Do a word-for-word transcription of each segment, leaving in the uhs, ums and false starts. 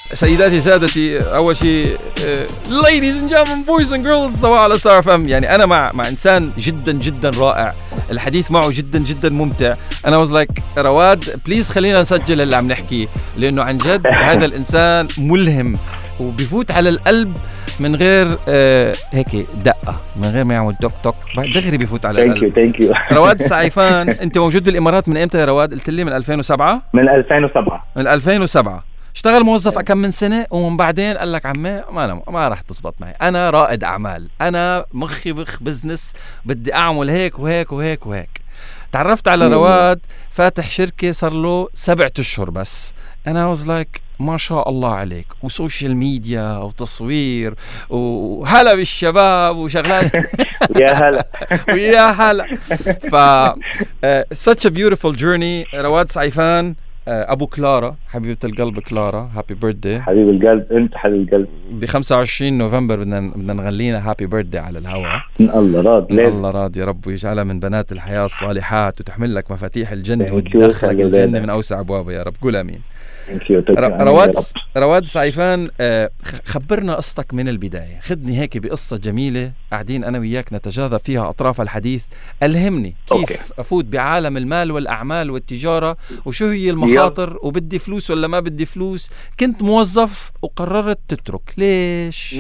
سيداتي سادتي، أول شيء ladies and gentlemen boys and girls سواء على ستار اف ام. يعني أنا مع مع إنسان جدا جدا رائع، الحديث معه جدا جدا ممتع. أنا was like رواد بليز خلينا نسجل اللي عم نحكيه، لأنه عن جد هذا الإنسان ملهم وبيفوت على القلب من غير آه هيك دقة، من غير ما يعمل توك توك دغري بيفوت على القلب. ثانك يو ثانك يو. رواد سعيفان، أنت موجود بالإمارات من إمتى يا رواد؟ قلت لي من ألفين وسبعة. من ألفين وسبعة. من ألفين وسبعة. اشتغل موظف كم من سنة ومن بعدين قال لك عمي ما أنا ما راح تزبط معي، أنا رائد أعمال، أنا مخي بخ بزنس، بدي أعمل هيك وهيك وهيك وهيك. تعرفت على رواد فاتح شركة صار له سبعة أشهر بس. أنا was like ما شاء الله عليك، وسوشيال ميديا وتصوير وهلا بالشباب وشغلات يا هلا ويا هلا. ف uh, such a beautiful journey. رواد سعيفان أبو كلارا، حبيبة القلب كلارا، هابي بيرثدي حبيب القلب. أنت حبيب القلب. ب خمسة وعشرين نوفمبر بدنا بدنا نغنينا هابي بيرثدي على الهواء. الله راض الله راض يا رب، ويجعلها من بنات الحياة الصالحات وتحمل لك مفاتيح الجنة وتدخلك الجنة من أوسع أبوابها يا رب. قول آمين. رواد رواد سعيفان، خبرنا قصتك من البداية، خدني هيك بقصة جميلة قاعدين أنا وياك نتجاذب فيها أطراف الحديث. ألهمني كيف أوكي. أفوت بعالم المال والأعمال والتجارة، وشو هي المخاطر، وبدي فلوس ولا ما بدي فلوس. كنت موظف وقررت تترك، ليش؟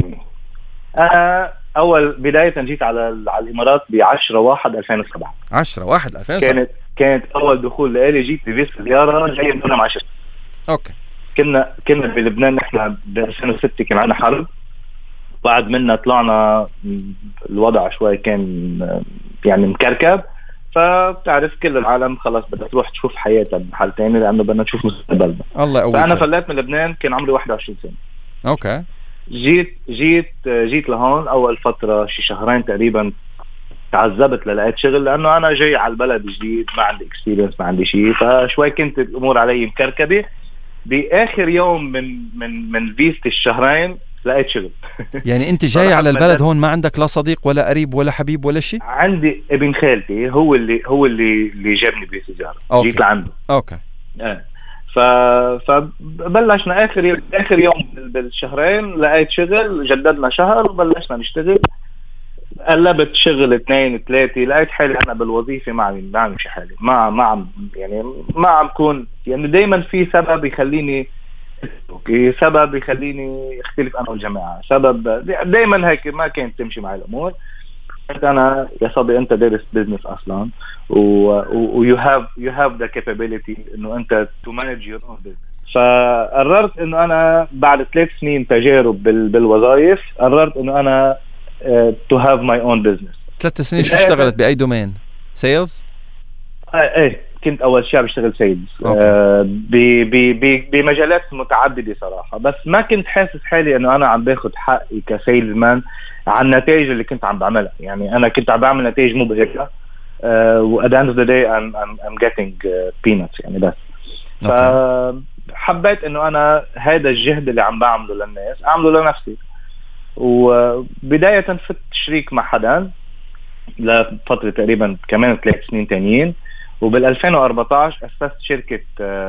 أنا أول بداية جيت على على الإمارات بعشرة واحد ألفين وسبعة. عشرة واحد ألفين وسبعة كانت كانت أول دخول لي، جيت بفيزا زيارة جاي من دولة عشرة. اوكي. كنا كنا بلبنان، نحن ب ألفين وستة كان عندنا حرب، بعد منا طلعنا الوضع شوي كان يعني مكركب، فبتعرف كل العالم خلاص بدها تروح تشوف حياتها بحال تاني لانه بدنا نشوف مستقبلنا. الله يقويك. فانا فليت من لبنان كان عمري واحد وعشرين سنة. اوكي. جيت جيت جيت لهون اول فتره شي شهرين تقريبا تعذبت للقيت شغل، لانه انا جاي على البلد جديد، ما عندي اكسبيرينس، ما عندي شيء، فشوي كنت الامور علي مكركبه. باخر يوم من من من فيزتي الشهرين لقيت شغل. يعني انت جاي على البلد هون ما عندك لا صديق ولا قريب ولا حبيب ولا شيء؟ عندي ابن خالتي هو اللي هو اللي اللي جابني بزيارة، جيت لعنده. اوكي. اه ف فبلشنا اخر يوم اخر يوم بالشهرين لقيت شغل، جددنا شهر وبلشنا نشتغل. قلبت شغل اثنين ثلاثة، لقيت حالي انا بالوظيفه ما عم بعمل شي حالي، ما ما عم يعني ما عم كون يعني دائما في سبب يخليني اوكي، سبب يخليني اختلف انا والجماعه، سبب دائما هيك ما كانت تمشي معي الامور. انا يا صبي انت دارس بزنس اصلا و you have you have the capability انه انت to manage your own business. فقررت انه انا بعد ثلاث سنين تجارب بال بالوظائف قررت انه انا to have my own business. ثلاث سنين شو اشتغلت باي دومين؟ سيلز؟ اه ايه كنت اول شيء بشتغل سيلز آه بمجالات متعدده صراحه، بس ما كنت حاسس حالي انه انا عم باخذ حقي كسيلز مان عن النتائج اللي كنت عم بعملها. يعني انا كنت عم بعمل نتائج مبهره و at the end of the day I'm, I'm, I'm getting uh, peanuts يعني بس. فحبيت انه انا هذا الجهد اللي عم بعمله للناس اعمله لنفسي. وبدايه فت شريك مع حدا لفتره تقريبا كمان ثلاث سنين تانيين، وبال2014 أسست شركة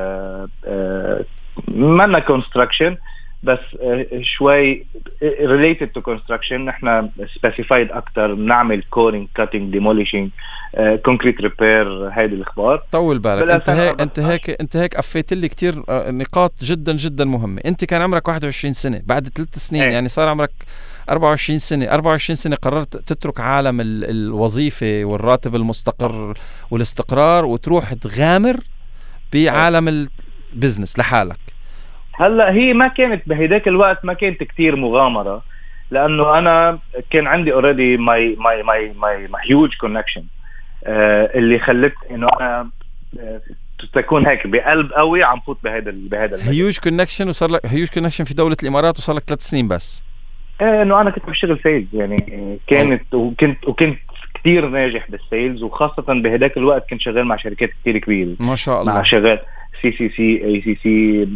مانا كونستراكشن بس شوي related to construction. نحن specified أكتر، نعمل كورينج كاتينج ديموليشنج كونكريت ريبير. هيدي الأخبار. طول بالك انت هيك انت هيك انت هيك قفيت لي كتير نقاط جدا جدا مهمة. انت كان عمرك واحد وعشرين سنة، بعد ثلاث سنين ايه. يعني صار عمرك أربعة وعشرين سنة. أربعة وعشرين سنة قررت تترك عالم الوظيفة والراتب المستقر والاستقرار وتروح تغامر بعالم البزنس لحالك. هلا هي ما كانت بهداك الوقت ما كانت كتير مغامرة، لأنه أنا كان عندي already my my my my my huge connection آه اللي خلت إنه أنا آه تكون هيك بقلب قوي عم فوت بهذا بهذا huge connection. وصار لك huge connection في دولة الإمارات وصار لك ثلاث سنين بس. إيه إنه أنا كنت بشتغل سيلز يعني كانت وكنت وكنت كتير ناجح بالسيلز، وخاصة بهداك الوقت كنت شغال مع شركات كتير كبيرة ما شاء الله. مع شغال سي سي سي اي سي سي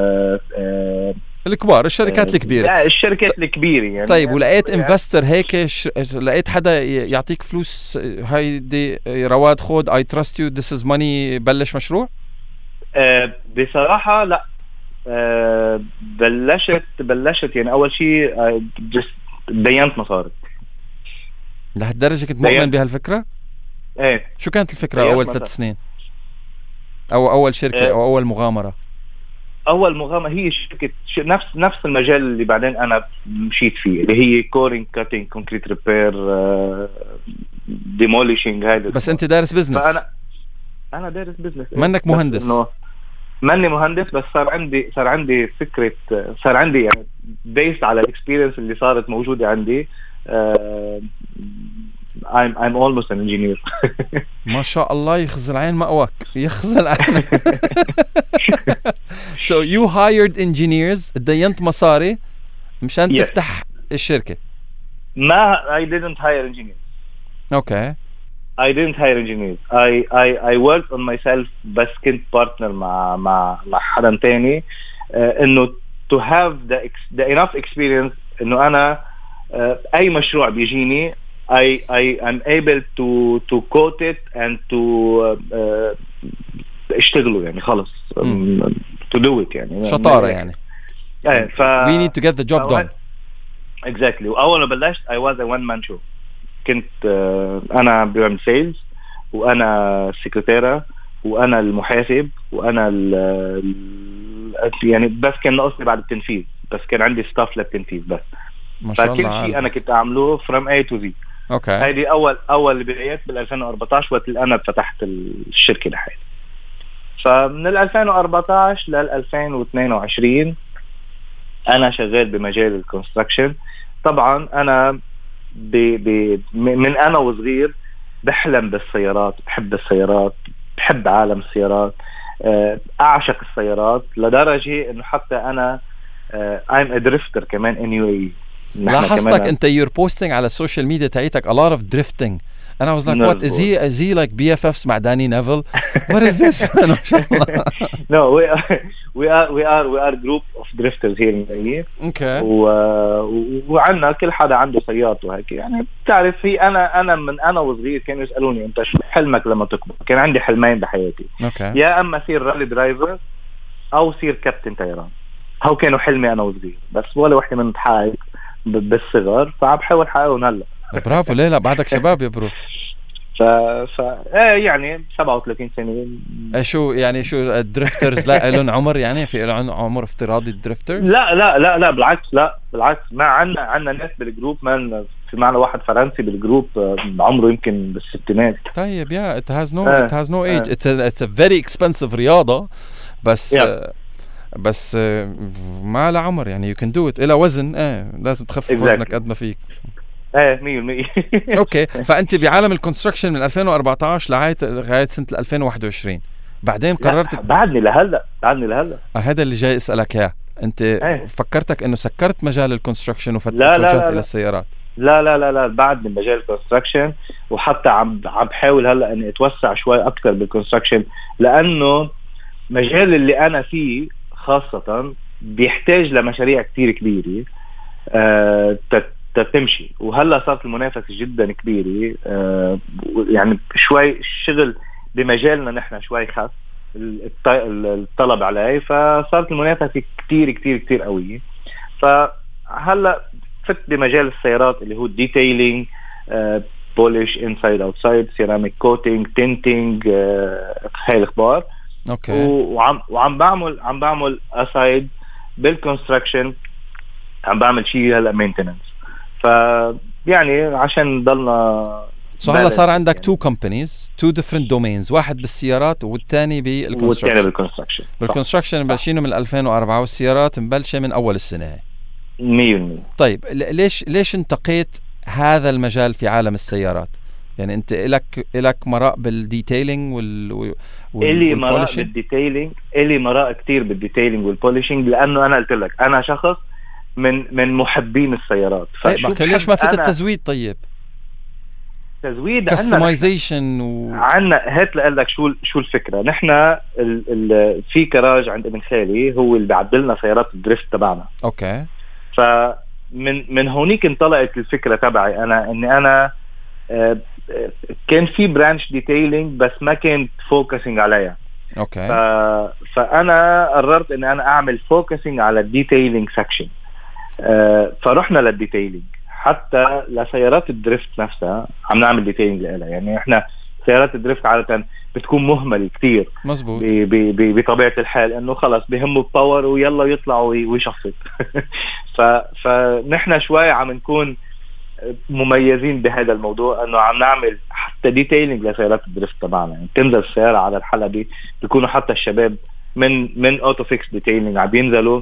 الكبار الشركات الكبيرة. لا الشركات الكبيرة يعني. طيب ولقيت انفستر هيك ش... لقيت حدا يعطيك فلوس هايدي رواد خود I trust you this is money بلش مشروع؟ أه بصراحة لا آه بلشت بلشت يعني اول شيء آه دينت مصاري. لهالدرجة كنت مؤمن بهالفكرة؟ ايه. شو كانت الفكرة اول ثلاث سنين او اول شركة آه او اول مغامرة؟ اول مغامرة هي شركة نفس نفس المجال اللي بعدين انا مشيت فيه، اللي هي كورينج كاتينج كونكريت ريبير ديموليشنج. هذا بس انت دارس بزنس. فانا انا دارس بزنس. منك مهندس؟ ماني مهندس، بس صار عندي صار عندي فكرة، صار عندي يعني بيس على الاكسبيرينس اللي صارت موجودة عندي. uh, I'm I'm almost an engineer. ما شاء الله، يخزل عين مأواك، يخزل عين. So you hired engineers، دينت مصاري مشان yes. تفتح الشركة. ما I didn't hire engineers. Okay. I didn't hire engineers. I I I worked on myself. بس كنت partner مع مع مع حدا تاني uh, إنه to have the ex- the enough experience إنه أنا uh, أي مشروع بيجيني I I am able to to quote it and to uh, اشتغله يعني خلص um, to do it يعني شطارة يعني. يعني ف we need to get the job done. Exactly. وأول ما بلشت I was a one man show. كنت uh, أنا بعمل سيلز، وأنا السكرتيرة، وأنا المحاسب، وأنا ال يعني بس كان ناقصني بعد التنفيذ، بس كان عندي ستاف للتنفيذ بس. ما شاء الله. فكل شيء أنا كنت أعمله from A to Z. اوكي. هذه اول اول بدايات بال ألفين وأربعتاشر وقت اللي انا فتحت الشركه لحالي. فمن ال ألفين وأربعتاشر لل ألفين واثنين وعشرين انا شغال بمجال الكونستراكشن. طبعا انا ب... ب... من انا وصغير بحلم بالسيارات، بحب السيارات، بحب عالم السيارات، اعشق السيارات لدرجه انه حتى انا I'm a drifter كمان in يو إيه إي. لاحظتك انت you're posting على السوشيال ميديا تاعتك a lot of drifting and I was like no, what is he is he like بي إف إفs مع داني نيفل what is this? No, we are we are we are we are group of drifters here in the okay. و وعندنا كل حدا عنده سيارته وهيك يعني. بتعرف في انا انا من انا وصغير كانوا يسالوني انت شو حلمك لما تكبر؟ كان عندي حلمين بحياتي. okay. يا اما صير رالي درايفر او صير كابتن طيران. هو كانوا حلمي انا وصغير، بس ولا وحده منهم تحقق بالصغر، فعم بحاول حققهم هلا. برافو. ليه لا بعدك شباب يا برو. ف ف ايه يعني سبعة وثلاثين سنه. شو يعني شو الدريفترز لا لهم عمر يعني؟ في لهم عمر افتراضي الدريفترز؟ لا لا لا لا بالعكس، لا بالعكس. ما عندنا عندنا ناس بالجروب، ما في معنا واحد فرنسي بالجروب عمره يمكن بالستينات. طيب يا it has no uh, it has no age. uh, it's a it's a very expensive رياضة، بس yeah. uh, بس ما له عمر يعني you can do it. إلى وزن ايه لازم تخفف exactly. وزنك قد ما فيك. ايه مية بالمية. اوكي. فانت بعالم الكونستراكشن من ألفين وأربعتاشر لغايه لغايه سنه ألفين وواحد وعشرين، بعدين قررت بعدني لهلا بعدني لهلا آه هذا اللي جاي اسالك اياه. انت ايه. فكرتك انه سكرت مجال الكونستراكشن وفتحت الى السيارات؟ لا لا لا لا بعدني مجال الكونستراكشن، وحتى عم عم بحاول هلا اني اتوسع شوي اكثر بالكونستراكشن، لانه مجال اللي انا فيه خاصه بيحتاج لمشاريع كتير كبيره آه تمشي. وهلا صارت المنافسه جدا كبيره آه يعني شوي الشغل بمجالنا نحن شوي خاص الطلب عليه، فصارت المنافسه كتير كتير كتير قويه. فهلا فت بمجال السيارات اللي هو ديتيلينج، بولش انسايد اوتسايد، سيراميك كوتينج، تينتينج، هاي الاخبار. اوكي. وعم وعم بعمل عم بعمل اسايد بالكونستراكشن، عم بعمل شيء هلا مينتيننس. ف يعني عشان ضلنا سو هلا صار عندك يعني. two companies two different domains، واحد بالسيارات والثاني بالكونستراكشن. والثاني بالكونستراكشن. بالكونستراكشن مبلشينه من ألفين وأربعة، والسيارات مبلشه من اول السنه. مية بالمية. طيب ليش ليش انتقيت هذا المجال في عالم السيارات؟ يعني انت لك لك مراء بالديتيلينج وال وال اللي مراء بالديتيلينج، اللي مراء كتير بالديتيلينج والبوليشنج، لانه انا قلت لك انا شخص من من محبين السيارات. طيب ليش ما فيت التزويد؟ طيب تزويد كاستمايزيشن و... عنا هات لقول لك شو شو الفكره. نحن ال... ال... في كراج عند ابن خالي هو اللي بيعدل لنا سيارات الدريفت تبعنا. اوكي. فمن من هونيك انطلقت الفكره تبعي انا، اني انا آه كان في برانش ديتيلينج بس ما كنت فوكسينج عليها. اوكي. ف... فانا قررت ان انا اعمل فوكسنج على الديتيلينج سكشن. أه فرحنا للديتيلينج، حتى لسيارات الدريفت نفسها عم نعمل ديتيلينج لها. يعني احنا سيارات الدريفت عادة بتكون مهملة كتير مزبوط بطبيعة الحال، انه خلص بهمه الباور ويلا يطلع ويشفط. ف... فنحن شوي عم نكون مميزين بهذا الموضوع، انه عم نعمل حتى ديتيلينج لسيارات الدريفت تبعنا. يعني تنزل السيارة على الحلبة بيكونوا حتى الشباب من من اوتو فيكس ديتيلينج عم بينزلوا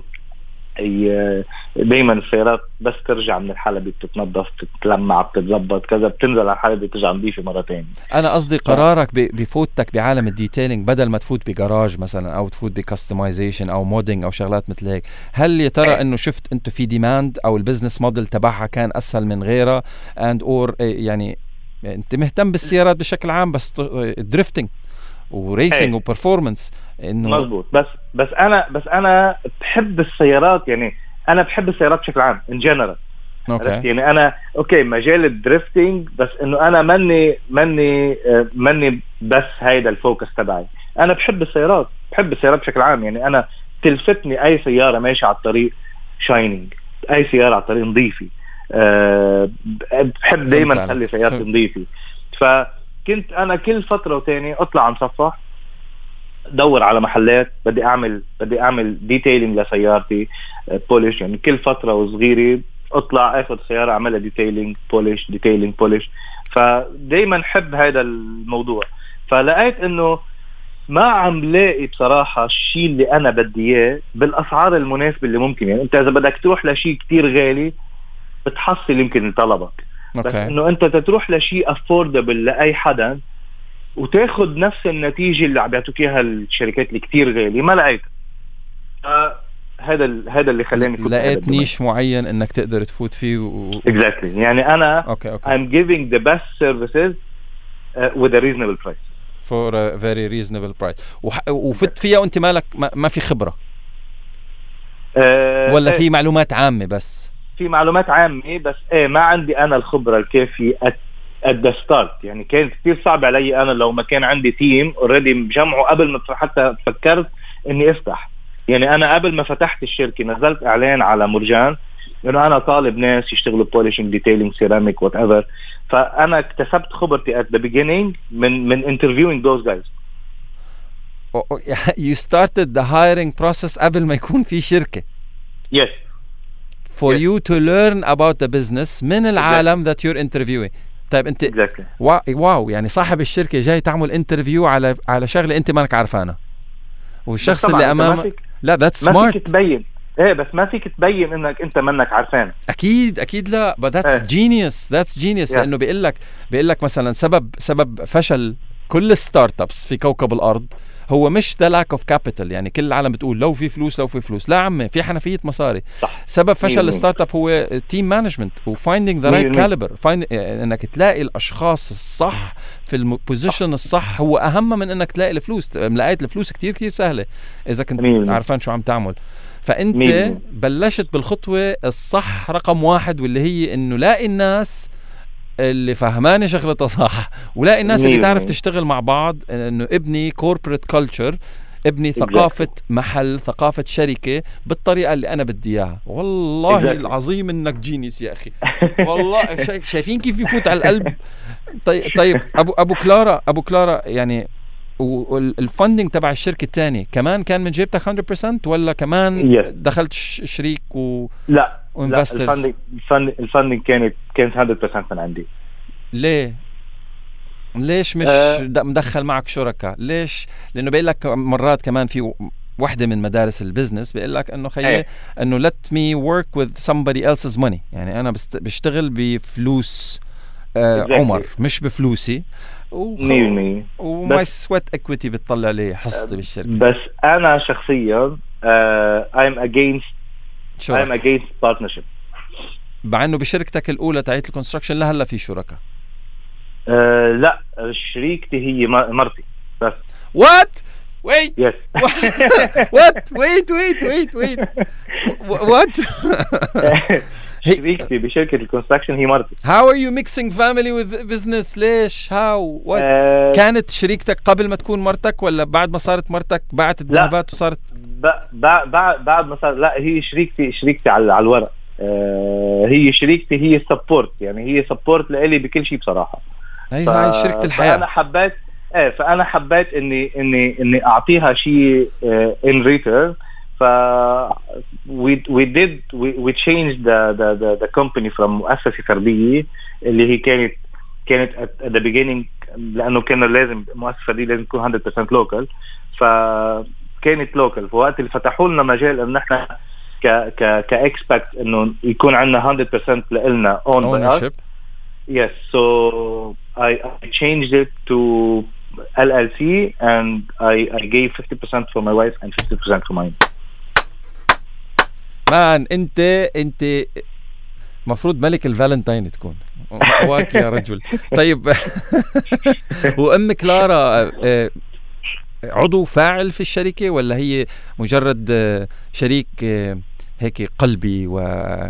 دايما السيارات بس ترجع من الحلبة بتتنظف بتتلمع بتتظبط كذا، بتنزل على الحلبة بترجع نظيفة مرة تانية. انا قصدي قرارك بفوتك بعالم الديتيلينج بدل ما تفوت بجراج مثلا او تفوت بكستمايزيشن او مودينج او شغلات مثل هيك، هل يا ترى انه شفت انتو في ديماند او البزنس موديل تبعها كان اسهل من غيرها اند اور يعني انت مهتم بالسيارات بشكل عام بس دريفتنج وريسنج وبرفورمانس انه مزبوط. بس بس انا بس انا بحب السيارات، يعني انا بحب السيارات بشكل عام ان جنرال. اوكي يعني انا اوكي مجال الدريفتنج، بس انه انا مني مني مني بس هيدا الفوكس تبعي. انا بحب السيارات، بحب السيارات بشكل عام. يعني انا تلفتني اي سياره ماشيه على الطريق شاينينج، اي سياره على الطريق نظيفه. أه بحب دايما اخلي سيارتي نظيفه. فكنت انا كل فتره وتاني اطلع انصفح، دور على محلات بدي اعمل بدي اعمل ديتيلينج لسيارتي بوليش. يعني كل فتره وصغيره اطلع اخذ سياره اعملها ديتيلينج بوليش ديتيلينج بوليش. فدايما حب هذا الموضوع. فلقيت انه ما عم لاقي بصراحه الشيء اللي انا بدي اياه بالاسعار المناسبه اللي ممكن. يعني انت اذا بدك تروح لشيء كتير غالي بتحصل يمكن طلبك، بس انه انت تروح لشيء افوردبل لاي حدا وتاخد نفس النتيجة اللي عم بيعطوك اياها الشركات اللي كتير غالية، ما لقيت. هذا هذا اللي خلاني لقيت نيش معين انك تقدر تفوت فيه و... exactly. يعني انا okay, okay. I'm giving the best services uh, with a reasonable price for a very reasonable price. وح... وفت فيها وانت مالك ما, ما في خبرة أه ولا في معلومات عامة؟ بس في معلومات عامة بس ايه ما عندي انا الخبرة الكافية at the start. يعني كان كتير صعب علي انا لو ما كان عندي تيم اوريدي مجمعه قبل ما حتى فكرت اني افتح. يعني انا قبل ما فتحت الشركة نزلت اعلان على مرجان انه انا طالب ناس يشتغلوا بوليشنج ديتيلينج سيراميك وات ايفر. فانا اكتسبت خبرتي at the beginning من من interviewing those guys. You started the hiring process قبل ما يكون في شركة. Yes. For yes. you to learn about the business من العالم exactly. that you're interviewing. طيب انت exactly. واو يعني صاحب الشركة جاي تعمل انترفيو على على شغلة انت مانك عارفانها، والشخص اللي امامك لا that's smart. ما فيك تبين ايه بس ما فيك تبين انك انت منك عارفان. اكيد اكيد لا but that's ايه. genius that's genius yeah. لانه بيقول لك بيقول لك مثلا سبب سبب فشل كل الستارت ابس في كوكب الارض هو مش ده lack of capital. يعني كل العالم بتقول لو في فلوس لو في فلوس، لا عمي في حنفية مصاري. صح. سبب فشل الستارت اب هو تيم مانجمنت و finding the right caliber. find انك تلاقي الاشخاص الصح في البوزيشن الصح هو اهم من انك تلاقي الفلوس. لقيت الفلوس كتير كتير سهلة اذا كنت مين. عارفان شو عم تعمل. فانت مين. بلشت بالخطوة الصح رقم واحد، واللي هي انه لاقي الناس اللي فهماني شغلتها صح، ولاقي الناس اللي تعرف تشتغل مع بعض، انه ابني كوربريت كلتشر، ابني ثقافة محل، ثقافة شركة بالطريقة اللي انا بدي اياها. والله exactly. العظيم انك جينيس يا اخي والله. شايفين كيف يفوت على القلب. طيب طيب ابو ابو كلارا ابو كلارا يعني والفندنج تبع الشركة الثانية كمان كان من جيبتك مية بالمية ولا كمان yes. دخلت شريك و لا لا الفندنج الفندنج كانت كانت مية بالمية من عندي. ليه ليش مش أه مدخل معك شركاء؟ ليش؟ لانه بيقول لك مرات كمان في واحدة من مدارس البيزنس بيقول لك انه خيي أه. انه let me work with somebody else's money. يعني انا بست... بشتغل بفلوس آه exactly. عمر مش بفلوسي، وماي سويت اكويتي بتطلع لي حصتي بالشركه. بس انا شخصيا I'm against I'm against partnership. مع انه بشركتك الاولى تاعت الكونستراكشن لهلا في شركاء. أه لا شريكتي هي مرتي بس. وات wait yes. what wait wait wait wait what شريكتي بشركة الكونستراكشن هي مرتي. How are you mixing family with business؟ ليش؟ How؟ What؟ آه كانت شريكتك قبل ما تكون مرتك ولا بعد ما صارت مرتك بعت الذهبات وصارت؟ بعد بعد بعد ما صار. لا هي شريكتي شريكتي على على الورق. آه هي شريكتي، هي سبورت، يعني هي سبورت لإلي بكل شيء بصراحة. هي هاي شركة الحياة. فأنا حبيت ايه فأنا حبيت إني إني إني أعطيها شيء in return. ف we we did we we changed the the the, the company from مؤسسة فردية اللي هي كانت كانت at the beginning، لأنه كان لازم مؤسسة فردية لازم تكون one hundred percent local. فكانت local. فوقت اللي فتحوا لنا مجال إن إحنا ك ك كإكسبكت إنه يكون عندنا one hundred percent لإلنا owned by us. Yes, so I, I changed it to L L C and I I gave fifty percent for my wife and fifty percent for mine. مان انت انت مفروض ملك الفالنتين تكون واك يا رجل. طيب وام كلارا عضو فاعل في الشركة ولا هي مجرد شريك هيك قلبي و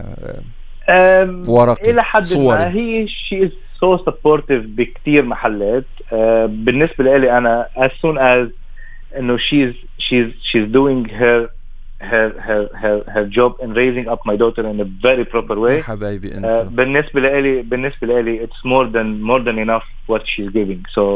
ورقي إلى حد صوري؟ ما هي she is so supportive بكتير محلات. بالنسبة لي أنا as soon as إنه she's she's she's doing her her her her her job in raising up my daughter in a very proper way. حبايبي أنت. بالنسبة لي بالنسبة لي it's more than more than enough what she's giving. so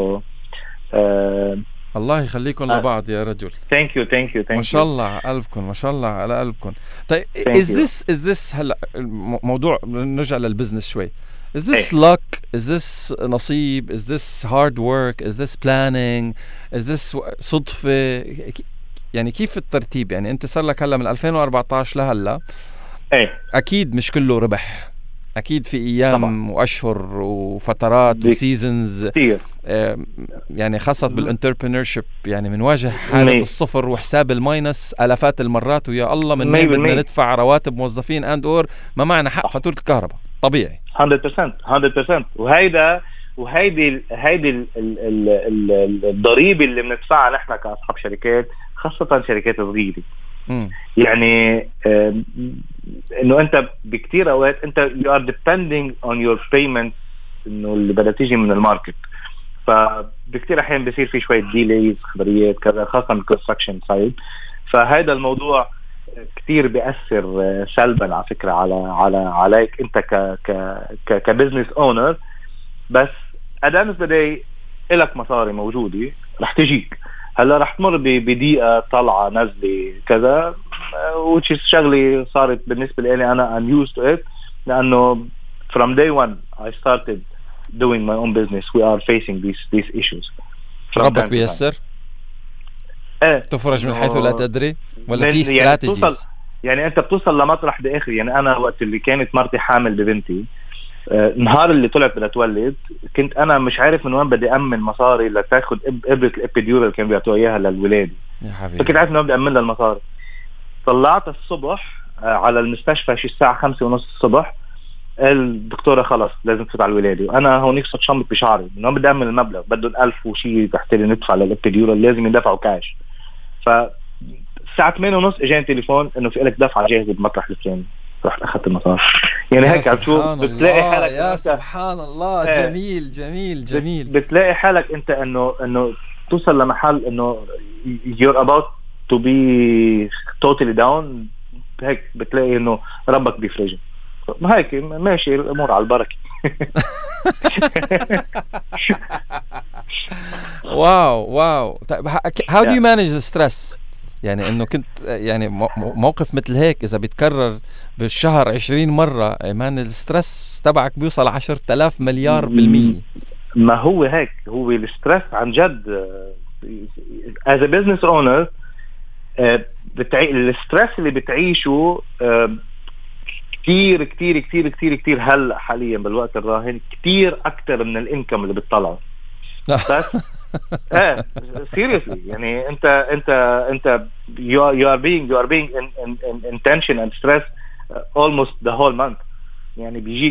uh, الله يخليكم لبعض يا رجل. thank you thank you thank you. ما شاء الله على قلبكم، ما شاء الله على قلبكم. طيب thank is you. this is this هلا موضوع نرجع للبزنس شوي. is this hey. luck is this نصيب is this hard work is this planning is this صدفة؟ يعني كيف الترتيب؟ يعني انت صار لك هلا من ألفين وأربعتاشر لهلا hey. اكيد مش كله ربح، اكيد في ايام طبعا. واشهر وفترات وسيزونز آه يعني خاصه بالانتربرينورشيب، يعني بنواجه حاله مي. الصفر وحساب الماينس الافات المرات، ويا الله من وين بدنا ندفع رواتب موظفين اند اور ما معنا حق فاتوره الكهرباء. طبيعي one hundred percent one hundred percent. وهيدا وهيدي هيدي الضريبه اللي بندفعها نحن كاصحاب شركات، خاصه شركات صغيره. يعني آه انه انت بكتير اوقات انت you are depending on your payments انه اللي بدها تيجي من الماركت. فبكتير احيان بيصير في شويه ديليز خبريات كذا، خاصه بالكونستراكشن سايد. فهذا الموضوع كتير بيأثر سلبا على فكره على على عليك انت ك ك كبزنس اونر. بس ادام بدي لك مصاري موجوده رح تجيك. هلا رح تمر بدقيقة طلعة نزلة كذا، which is شغلي صارت بالنسبة لي أنا I'm used to it، لأنه from day one I started doing my own business. We are facing these these issues. ربك بيسر؟ ايه تفرج من حيث لا تدري ولا في استراتيجيز؟ يعني, يعني أنت بتوصل لمطرح بآخر. يعني أنا وقت اللي كانت مرتي حامل ببنتي، آه، نهار اللي طلعت بدها تولد كنت انا مش عارف من وين بدي امن مصاري لتاخد ابره الابيديورال كانوا بيعطوها اياها للولاده. يا حبيبي فكنت عارف انه بدي امن لها المصاري. طلعت الصبح آه، على المستشفى شي الساعه خمسة ونص الصبح، الدكتوره خلص لازم تفوت على الولاده، وانا هونيك صرت شمط بشعري انه بدي امن المبلغ، بدهم ألف وشي تحت لي ندفع للابيديورال، لازم يدفعوا كاش. فالساعه ثمانية ونص اجاني تليفون انه في لك دفعه جاهزه بمطرح الفلاني. رحت اخذت المصاري. يعني هيك عشوف بتلاقي حالك يا سبحان الله. جميل جميل جميل. بتلاقي حالك انت انه انه توصل لمحل انه you're about to be totally down. هيك بتلاقي انه ربك بيفرجك. ما هيك ماشي الامور على البركه. واو واو. طيب how do you manage the stress؟ يعني انه كنت يعني موقف مثل هيك اذا بيتكرر بالشهر عشرين مرة، مان السترس تبعك بيوصل عشرة آلاف مليار بالمية. ما هو هيك، هو السترس عن جد as a business owner. بتعي... السترس اللي بتعيشه كتير كتير كتير كتير كتير هلا حاليا بالوقت الراهن كتير اكتر من الانكم اللي بتطلعه. بس اه seriously يعني انت انت انت you are, you are being you are being in, in, in, in tension and stress uh, almost the whole month. يعني بيجيك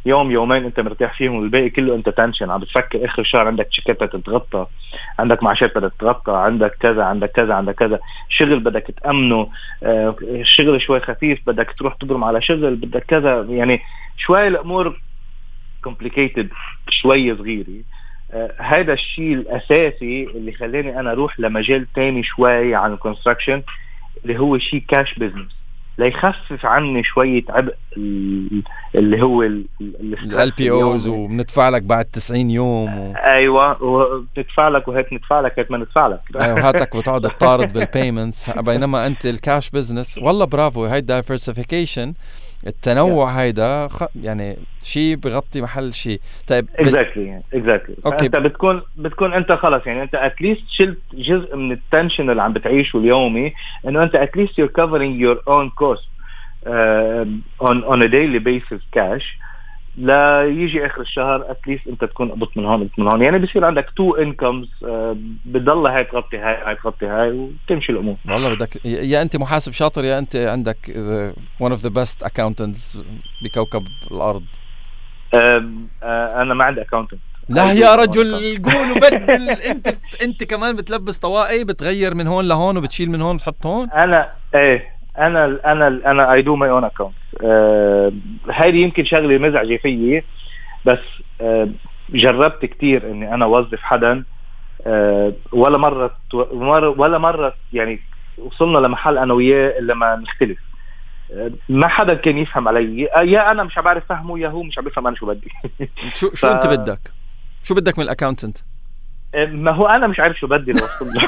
يوم يومين انت مرتاح فيهم والباقي كله انت تنشن عم بتفكر اخر الشهر عندك تشيكات تتغطى، عندك معاشات بدك تتغطى، عندك كذا عندك كذا عندك كذا شغل بدك تأمنه، آه الشغل شوي خفيف بدك تروح تبرم على شغل بدك كذا، يعني شوي الامور complicated شوي صغيرة. آه هذا الشيء الاساسي اللي خلاني انا اروح لمجال تاني شوي عن الكونستراكشن اللي هو شيء كاش بيزنس ليخفف عني شوية عبء اللي هو ال بي اوز وبندفع لك بعد تسعين يوم و... ايوه وبتدفع لك وهيك ندفع لك هيك ما ندفع لك ايوه هاتك بتقعد تطارد بالبيمنتس، بينما انت الكاش بزنس والله برافو. هاي دايفرسيفيكيشن التنوع yeah. هيدا خ... يعني شيء بغطي محل شيء. طيب اكزاكتلي اكزاكتلي انت بتكون بتكون انت خلص يعني انت اتليست شلت جزء من التنشن اللي عم بتعيشه اليومي، انه انت اتليست you're covering your own cost uh, on on a daily basis cash لا يجي اخر الشهر اتليست انت تكون قبضت من هون قبضت من هون، يعني بصير عندك تو انكمز uh, بتضل هاي تغطي هاي هاي تغطي هاي وتمشي الامور. والله بدك يا انت محاسب شاطر يا انت عندك one of the best accountants بكوكب الارض. uh, uh, انا ما عندي accountant. لا يا رجل قول وبدل. انت انت كمان بتلبس طواقي بتغير من هون لهون وبتشيل من هون بتحط هون. انا ايه انا انا انا I do my own account. أه هذه يمكن شغله مزعجه فيي بس أه جربت كتير اني انا اوظف حدا أه ولا مره ولا مره يعني وصلنا لمحل انا وياه الا ما نختلف. أه ما حدا كان يفهم علي، يا انا مش بعرف فهمه يا هو مش عم بيفهم انا شو بدي. شو شو ف... انت بدك شو بدك من الاكاونتنت؟ ما هو انا مش عارف شو بدي لوصل له.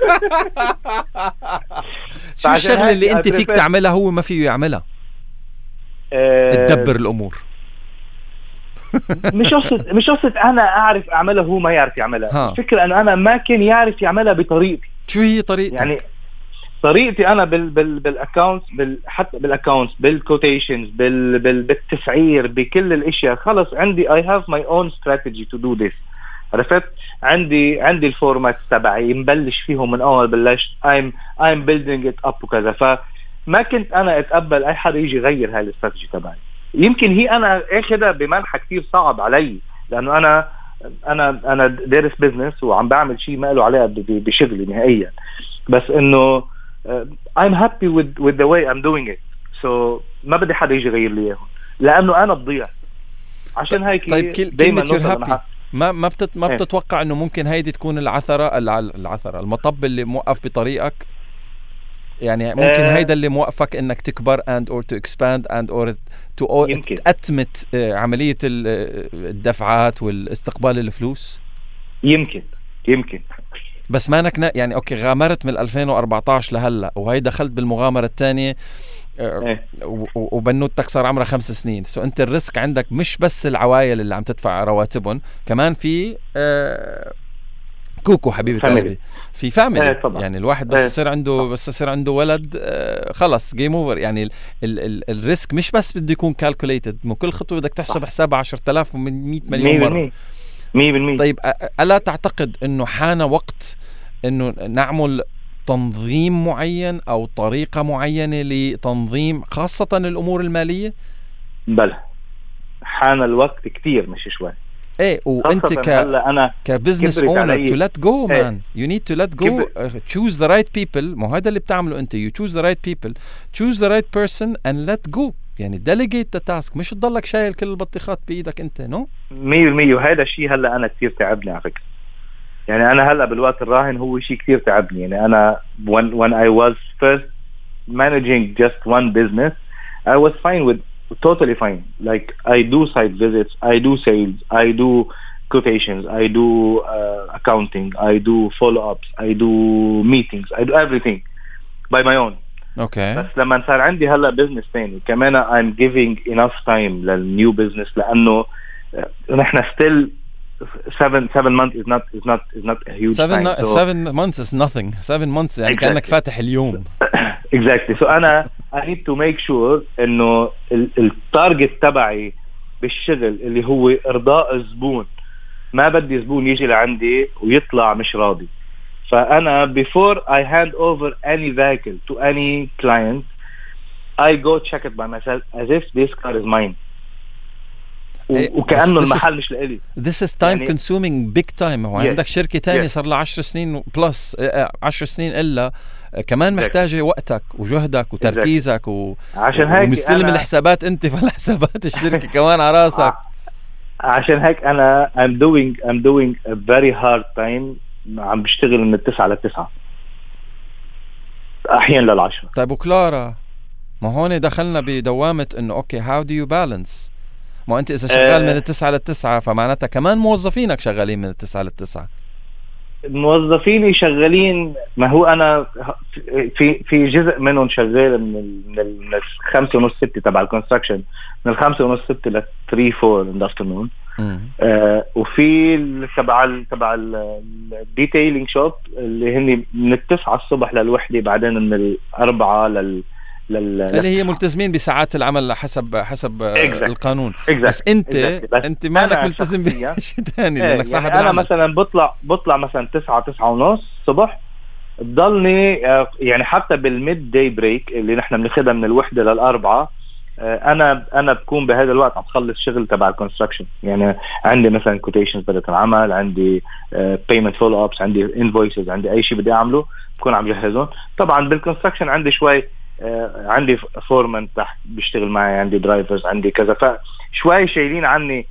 شو الشغله اللي انت فيك تعملها هو ما فيه يعملها؟ أه تدبر الامور. مش قصة مش قصة انا اعرف اعملها هو ما يعرف يعملها. الفكره انه انا ما كان يعرف يعملها بطريقتي. شو هي طريقتك؟ يعني طريقتي انا بال بال بالاكاونتس بال حتى بالاكاونتس بالكوتيشنز بال بال بالتسعير بكل الاشياء خلص عندي I have my own strategy to do this. عرفت عندي عندي الفورمات تبعي مبلش فيهم من اول بلشت I'm I'm building it up وكذا، فما كنت انا اتقبل اي حدا يجي يغير هاي الاستراتيجي تبعي. يمكن هي انا اخذها بمنحى كتير صعب علي لانه انا انا انا دارس بزنس وعم بعمل شيء ما له علاقه بشغلي نهائيا، بس انه I'm happy with with the way I'm doing it. so ما بدي حدا يجي يغير لي اياهم لانه انا بضيع. عشان هيك طيب دايما نوصل ما ما بتت ما بتتوقع انه ممكن هيدي تكون العثره العثره المطب اللي موقف بطريقك؟ يعني ممكن آه هيدا اللي موقفك انك تكبر and or to expand and or to تأتمت عمليه الدفعات والاستقبال الفلوس. يمكن يمكن بس ما نكنا يعني اوكي غامرت من ألفين وأربعتاشر لهلا وهي دخلت بالمغامره الثانيه إيه. وبنوتك صار عمرها خمس سنين. سو انت الريسك عندك مش بس العوائل اللي عم تدفع رواتبهم، كمان في آه كوكو حبيبي قلبي في فاميلي. إيه يعني الواحد بس يصير عنده بس يصير عنده ولد آه خلص جيم اوفر. يعني ال ال ال الريسك مش بس بده يكون كالكوليتد، مو كل خطوه بدك تحسب حسابها عشرة آلاف ومئة مليون مره. مية بالمية. طيب ألا تعتقد انه حان وقت انه نعمل تنظيم معين او طريقة معينة لتنظيم خاصة الامور المالية؟ بلى حان الوقت كتير مش شوي. ايه وانت ك أنا كبزنس اونر to let go man you need to let go uh, choose the right people. مو هذا اللي بتعمله انت. you choose the right people, choose the right person and let go. يعني delegate the task، مش تضلك شايل كل البطيخات بايدك انت. نو مية بالمية. وهذا الشيء هلا انا كثير تعبني على فكرة. يعني انا هلا بالوقت الراهن هو شيء كثير تعبني. يعني انا when when I was first managing just one business I was fine with totally fine. Like I do site visits, I do sales, I do quotations, I do uh, accounting, I do follow-ups, I do meetings, I do everything by my own. Okay. بس لما صار عندي هلا بزنس ثاني كمان I'm giving enough time للنيو بزنس لأنه نحن still seven seven months is not is not is not a huge seven time. No, so seven months is nothing. seven months يعني exactly. كأنك فاتح اليوم. exactly. so أنا I need to make sure إنه التارجت تبعي بالشغل اللي هو إرضاء الزبون. ما بدي زبون يجي لعندي ويطلع مش راضي. فأنا before I hand over any vehicle to any client I go check it by myself as if this car is mine. وكأنه المحل مش لإلي. This is time يعني consuming big time. هو yes. عندك شركة تانية yes. صار لها عشر سنين بلس عشر سنين إلا كمان محتاجة وقتك وجهدك وتركيزك و... عشان هيك ومستلم أنا... الحسابات انت فالحسابات الشركة كمان على راسك. عشان هيك أنا I'm doing I'm doing a very hard time. عم بشتغل من التسعة للتسعة أحيانا للعشرة. طيب وكلارا ما هون دخلنا بدوامة إنه أوكي how do you balance؟ ما أنت إذا شغال من التسعة للتسعة فمعناتها كمان موظفينك شغالين من التسعة للتسعة. موظفيني شغالين ما هو أنا في في جزء منهم شغال من من الخمسة ونص ستة تبع الكونستراكشن من الخمسة ونص ستة لثري فور in the afternoon. آه وفي تبع تبع الديتيلينج شوب اللي هني من التسعة الصبح للوحدة بعدين من الأربعة لل لل اللي هي ملتزمين بساعات العمل حسب حسب exactly. القانون exactly. بس انت exactly. بس انت ما لك ملتزم بشيء ثاني لانك يعني صاحب انا العمل. مثلا بطلع بطلع مثلا تسعة تسعة ونص الصبح بضلني يعني حتى بالميد داي بريك اللي نحن بناخذها من الوحدة للأربعة انا انا بكون بهذا الوقت عم بخلص شغل تبع الكونستراكشن. يعني عندي مثلا كوتيشنز بدي العمل عندي بيمنت فولو ابس عندي انفويسز عندي اي شيء بدي اعمله بكون عم جهزهم. طبعا بالكونستراكشن عندي شوي آه عندي فورمان تحت بيشتغل معي عندي درايفرز عندي كذا فشوي شايلين عني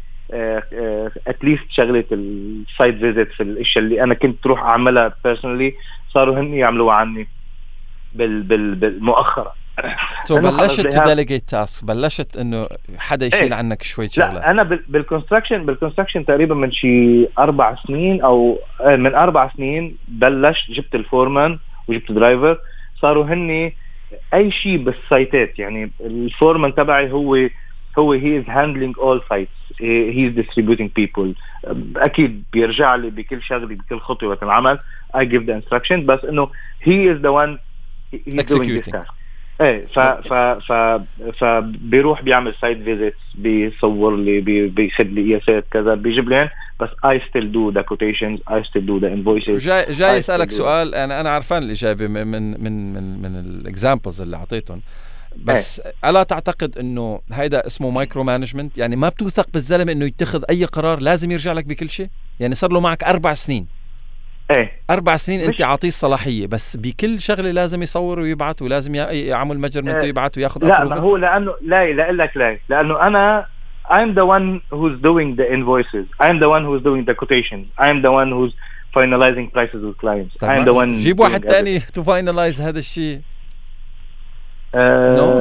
اتليست آه آه شغلة السايت فيزيت في الاشياء اللي انا كنت تروح اعملها بيرسونالي صاروا هن يعملوها عني بال بال بالمؤخرة. تو بلشت تديليجيت تاسك بلشت انه حدا يشيل ايه؟ عنك شوي شغله. لا انا بالكونستراكشن بالكونستراكشن تقريبا من شي اربع سنين او من اربع سنين بلشت جبت الفورمان وجبت درايفر صاروا هني اي شيء بالسايتات. يعني الفورمان تبعي هو هو he is handling all sites he is distributing people. اكيد بيرجع لي بكل شغله بكل خطوه العمل I give the instruction بس انه he is the one he is doing this task. ايه ف ف ف فبيروح بيعمل سايت فيزيتس بيصور لي بي بياخذ لي قياسات كذا بيجيب لي بس I still do the quotations I still do the invoices. جاي جاي اسالك سؤال انا انا عارفان الاجابه من من من من الاكزامبلز اللي اعطيتهم بس ايه. الا تعتقد انه هيدا اسمه مايكرو مانجمنت؟ يعني ما بتوثق بالزلمه انه يتخذ اي قرار لازم يرجع لك بكل شيء؟ يعني صار له معك اربع سنين ايه اربع سنين انت عاطيه الصلاحيه بس بكل شغله لازم يصور ويبعث ولازم يعمل ميجرمنت ايه. ويبعث وياخذ لا ما هو لانه لا لا لك لا لانه انا I'm the one who's doing the invoices I'm the one who's doing the quotations I'm the one who's finalizing prices with clients I'm the one. جيب واحد تاني to finalize هذا الشيء. Uh, no.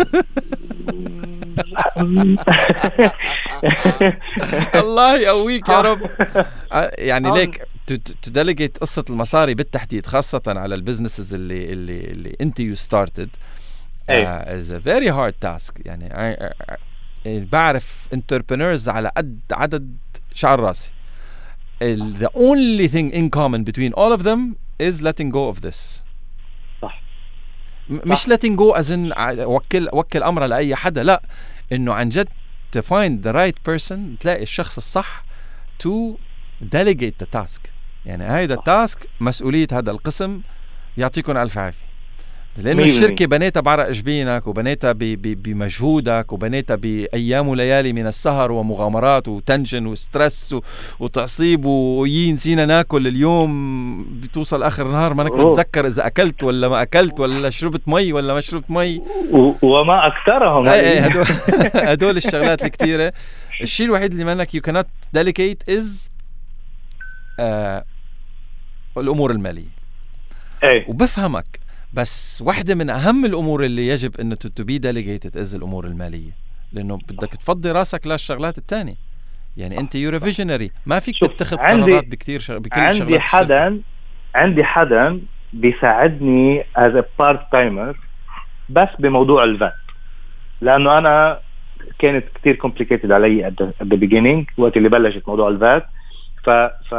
الله يقويك يا رب. يعني ليك تدلجيت قصة المصاري بالتحديد خاصة على البزنسز اللي اللي اللي انت you started uh, is a very hard task. يعني I, I, I, بعرف entrepreneurs على قد عدد شعر راسي. The only thing in common between all of them is letting go of this. مش letting go أزن وكل وكل أمره لأي حدا لا إنه عن جد to find the right person تلاقي الشخص الصح to delegate the task. يعني هيدا التاسك مسؤولية هذا القسم يعطيكم ألف عافية لأنه الشركة بنيتها بعرق جبينك وبنيتها بمجهودك وبنيتها بأيام وليالي من السهر ومغامرات وتنشن وسترس وتعصيب ويين نسينا ناكل اليوم بتوصل آخر النهار ما نك متذكر إذا أكلت ولا ما أكلت ولا شربت مي ولا ما شربت مي وما أكثرهم. هدول هدول الشغلات الكتيرة. الشيء الوحيد اللي منك you cannot delegate is آه الأمور المالية. أي. وبفهمك بس واحدة من أهم الأمور اللي يجب أنه to be delegated is الأمور المالية لأنه بدك تفضي راسك للشغلات التانية. يعني أنت you're a visionary ما فيك تتخذ قرارات بكتير شغ... بكل عندي شغلات حدا الشركة. عندي حدا بيساعدني as a part timer بس بموضوع الفات لأنه أنا كانت كتير complicated علي at the, at the beginning وقت اللي بلشت موضوع الفات ف ف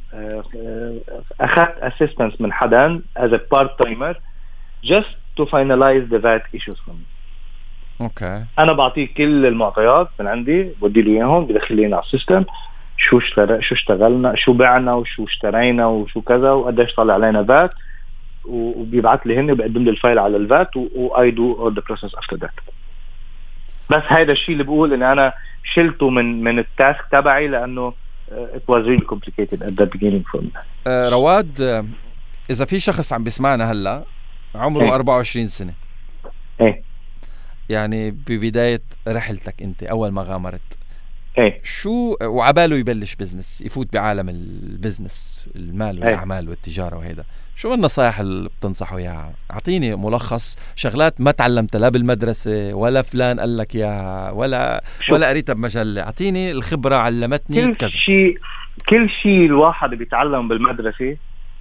أخذت assistance من حدا as a part timer just to finalize the V A T issues for me. اوكي. انا بعطيه كل المعطيات من عندي بدي له اياهم بدخل لي على السيستم شو اشترى شو اشتغلنا شو بعنا وشو اشترينا وشو كذا وقديش طلع علينا V A T وبيبعث لي هن وبقدم لي الفايل على ال V A T و I do all the process after that. بس هيدا الشيء اللي بقول ان انا شلته من من التاسك تبعي لانه it was really complicated at the beginning for me. آه رواد، آه اذا في شخص عم بيسمعنا هلا عمره ايه. أربعة وعشرين سنة، ايه يعني ببداية رحلتك انت اول ما غامرت، ايه شو وعباله يبلش بزنس، يفوت بعالم البزنس المال والاعمال ايه. والتجارة وهيدا، شو النصائح اللي بتنصحه اياها؟ اعطيني ملخص شغلات ما تعلمتها لا بالمدرسة ولا فلان قال لك اياها ولا شو. ولا قريتها بمجلة، اعطيني الخبرة علمتني كل كذا. شيء كل شيء الواحد بيتعلم بالمدرسة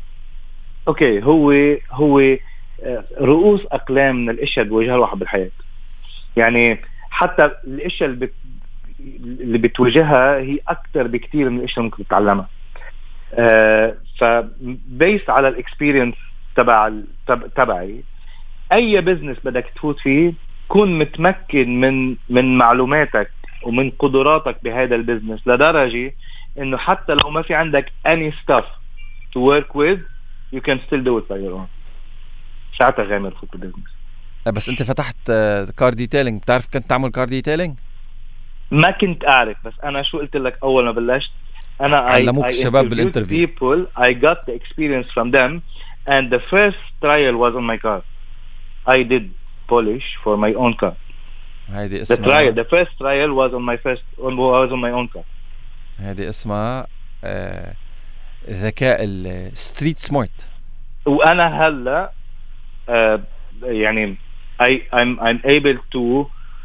اوكي هو هو رؤوس اقلام من الاشياء اللي بيواجهها الواحد بالحياة. يعني حتى الاشياء اللي بت اللي بتواجهها هي اكثر بكتير من الاشياء ممكن تتعلمها. آه فبيس على الاكسبيرينس تبع تبعي اي بزنس بدك تفوت فيه كون متمكن من من معلوماتك ومن قدراتك بهذا البزنس لدرجة انه حتى لو ما في عندك any stuff to work with you can still do it by your own. ساعتها غامر فوت بالبزنس. بس انت فتحت كار ديتيلينج، بتعرف كنت تعمل كار ديتيلينج؟ ما كنت أعرف، بس أنا شو قلت لك أول ما بلشت أنا علموك الشباب بالانترفيو. people I got the experience from them and the first trial was on my car. I did polish for my own car. هيدي اسمها the trial the first trial was on my first on was on my own car. هيدي اسمها آه ذكاء الستريت سمارت. وأنا هلا آه يعني I I'm I'm able to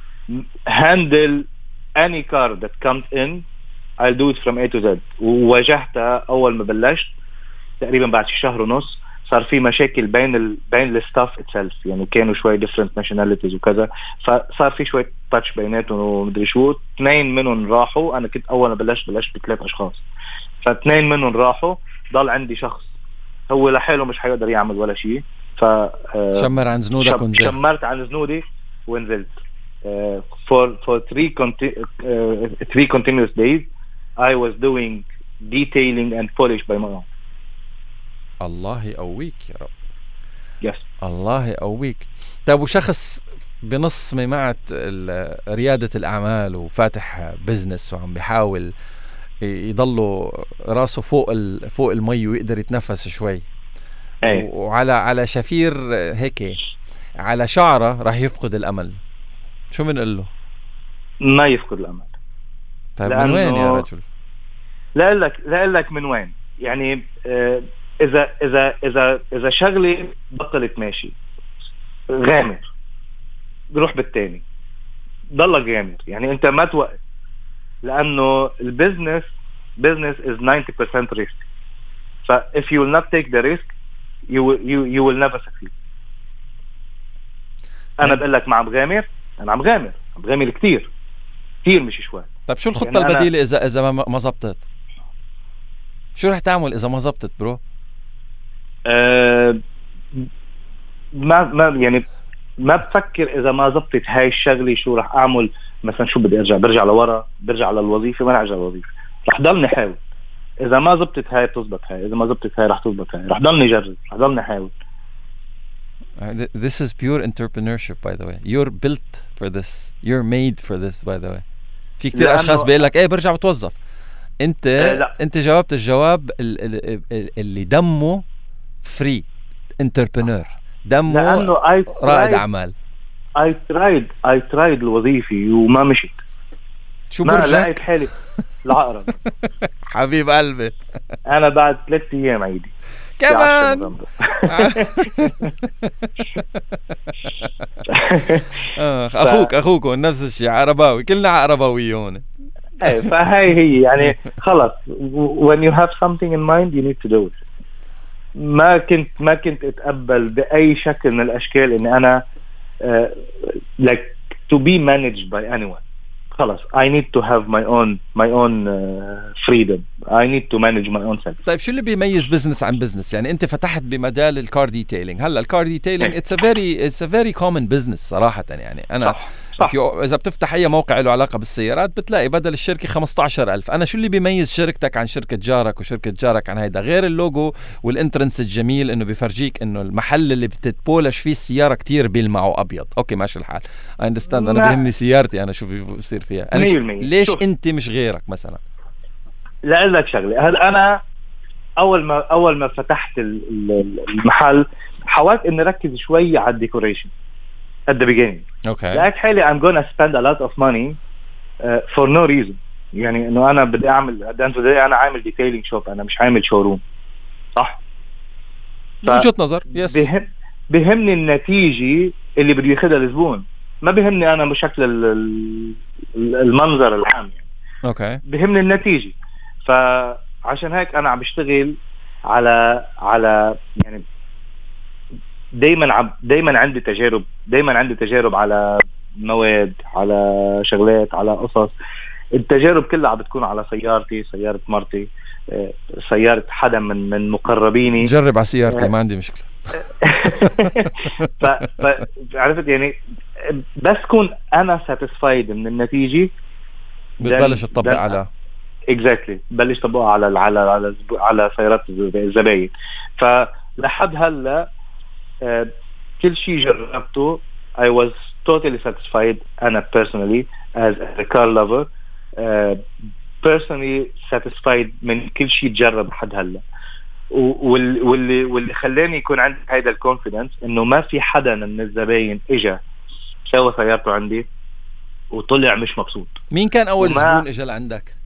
handle any car that comes in. I'll do it from A to Z. وواجهتها أول ما بلشت تقريبا بعد شهر ونص. صار في مشاكل بين ال بين الستاف itself، يعني كانوا شوي different nationalities وكذا، فصار في شوي تاتش بيناتهم ومدري شو. اثنين منهم راحوا، أنا كنت أول ما بلشت بلشت بثلاث أشخاص، فاثنين منهم راحوا، ضل عندي شخص هو لحاله مش حيقدر يعمل ولا شيء. ف شمر عن زنودك ونزلت. شمرت عن زنودي ونزلت. Uh, for for three conti- uh, three continuous days I was doing detailing and polish by my own. الله يقويك يا رب. Yes. الله يقويك. طيب وشخص بنص ميمعة ريادة الأعمال وفاتح بزنس وعم بيحاول يضله راسه فوق ال فوق المي ويقدر يتنفس شوي، أي. وعلى على شفير هيك على شعره راح يفقد الأمل، شو بنقول له؟ ما يفقد الأمل. طيب من وين يا رجل؟ لا أقول لك لا أقول لك من وين. يعني آه إذا إذا إذا إذا شغلي بطلت ماشي غامر، بروح بالتاني، ضلك غامر. يعني أنت ما توقف، لأنه البزنس business is ninety percent risk. ف if you will not take the risk you will you you will never succeed. أنا بقول لك ما عم غامر، أنا عم غامر عم غامر كتير كتير مش شوي. طب شو الخطة يعني البديلة إذا إذا ما ما زبطت؟ شو رح تعمل إذا ما زبطت برو؟ أه ما ما يعني ما بفكر إذا ما زبطت هاي الشغلة شو رح أعمل. مثلا شو بدي أرجع؟ برجع لورا، برجع على الوظيفة، ما رح أرجع للوظيفة، رح ضلني حاول. إذا ما زبطت هاي بتزبط هاي، إذا ما زبطت هاي رح تزبط هاي، رح ضلني جرب، رح ضلني حاول. This is pure entrepreneurship by the way. You're built for this. You're made for this by the way. في كتير أشخاص بيقول لك إيه برجع بتوظف. أنت لا. أنت جاوبت الجواب اللي دمه free entrepreneur، دمه رائد أعمال. I tried I tried الوظيفة وما مشيت. شو برجع؟ ما لقيت حالي العقرب. حبيب قلبي. أنا بعد ثلاثة أيام عيدي. كمان. أخوك أخوك نفس الشيء، عرباوي، كلنا عرباوي هون. إيه فهاي هي يعني خلص. when you have something in mind you need to do it. ما كنت ما كنت أتقبل بأي شكل من الأشكال إن أنا uh, like to be managed by anyone. خلاص I need to have my own my own uh, freedom. I need to manage my own self. طيب شو اللي بيميز بزنس عن بزنس؟ يعني انت فتحت بمجال الكار ديتيلينج. هلا الكار ديتيلينج it's a very it's a very common business صراحة. يعني انا صح. صح. اذا بتفتح اي موقع له علاقة بالسيارات بتلاقي بدل الشركة خمسة عشر ألف. انا شو اللي بيميز شركتك عن شركة جارك وشركة جارك عن هيدا غير اللوجو والانترنس الجميل انه بيفرجيك انه المحل اللي بتتبولش فيه السيارة كتير بيلمعوا ابيض. اوكي ماشي الحال. I understand. انا بيهمني سيارتي انا شو بيصير فيها. أنا ش... ليش شوف. انت مش غيرك مثلا؟ لا لك شغله. هل انا اول ما اول ما فتحت المحل حاولت اني اركز شوي على الديكوريشن at the beginning. اوكي. لقيت حالي I'm gonna spend a lot of money uh, for no reason. يعني انه انا بدي اعمل at the end of the day انا عامل ديتيلينج شوب، انا مش عامل شوروم. صح؟ وجهة نظر. يس. بهم بهمني النتيجة اللي بده ياخذها الزبون، ما بهمني انا بشكل المنظر العام يعني. اوكي. بهمني النتيجة. فعشان هيك انا عم بشتغل على على يعني دايما عم دايما عندي تجارب دايما عندي تجارب على مواد، على شغلات، على قصص. التجارب كلها عم بتكون على سيارتي، سيارة مرتي، سيارة حدا من من مقربيني. جرب على سيارتي ما عندي مشكلة. ف... ف... عرفت يعني بس كون انا ساتيسفايد من النتيجة بتبلش تطبق على اكزاكتلي بلش طبقها على على على على سيارات الزباين. فلحد هلا uh, كل شيء جربته I was totally satisfied أنا personally as a car lover uh, personally satisfied من كل شيء تجرب لحد هلا. واللي واللي خلاني يكون عندي هيدا الكونفيدنس انه ما في حدا من الزباين اجى سوى سيارته عندي وطلع مش مبسوط. مين كان اول وما... زبون اجى لعندك؟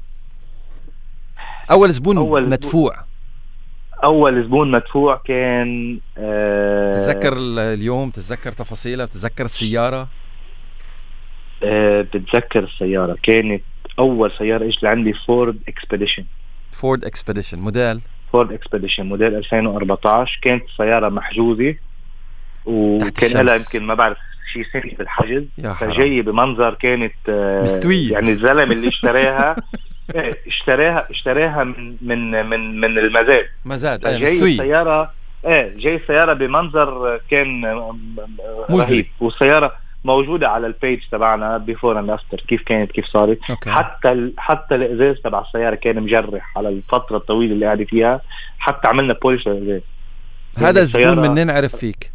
اول زبون أول مدفوع زبون. اول زبون مدفوع كان أه... تتذكر اليوم؟ تتذكر تفاصيلها؟ بتتذكر السيارة؟ أه... بتذكر السيارة. كانت اول سيارة اجت لعندي فورد اكسبيديشن. فورد اكسبيديشن موديل فورد اكسبيديشن موديل ألفين وأربعتاشر. كانت سيارة محجوزة وكان لها يمكن ما بعرف شيء سنة بالحجز. فجاية بمنظر كانت مستوية. يعني الزلم اللي اشتراها اشتراها اشتراها من من من من المزاد. مزاد. جاي السيارة ايه جاي السيارة بمنظر كان رهيب. والسيارة موجودة على البيج تبعنا بيفور اند افتر كيف كانت كيف صارت. أوكي. حتى ال... حتى الازاز تبع السيارة كان مجرح على الفترة الطويلة اللي قاعدة فيها. حتى عملنا بولش للازاز. هذا الزبون منين عرف فيك؟